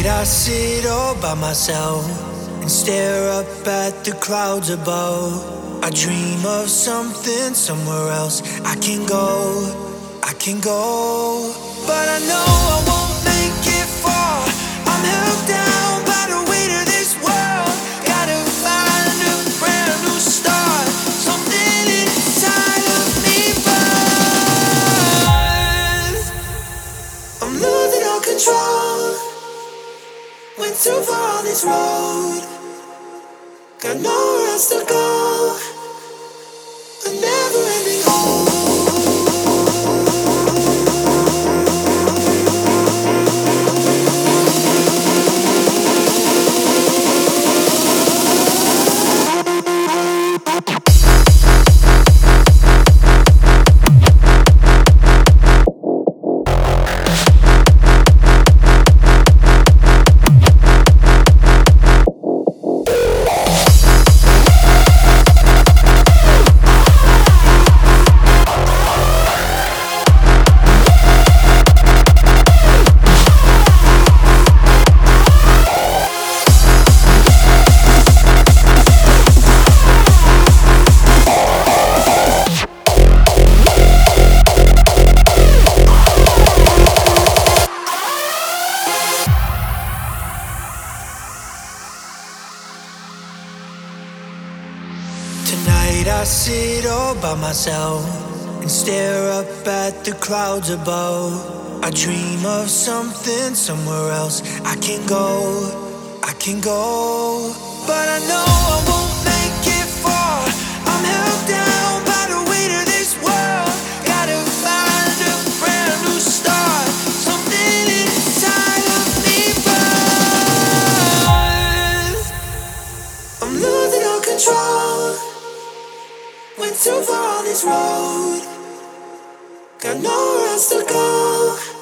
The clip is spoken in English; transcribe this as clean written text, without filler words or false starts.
I sit all by myself and stare up at the clouds above. I dream of something somewhere else. I can go, but I know I won't make it far. I'm held down by the weight of this world. Gotta find a brand new start. Something inside of me burns. I'm losing all control. Went too far on this road. Got nowhere else to go. A never-ending hole. Tonight I sit all by myself and stare up at the clouds above. I dream of something somewhere else. I can go, but I know I won't make it far. I'm held down by the weight of this world. Gotta find a brand new start. Something inside of me burns. I'm losing all control. Went too far on this road. Got nowhere else to go.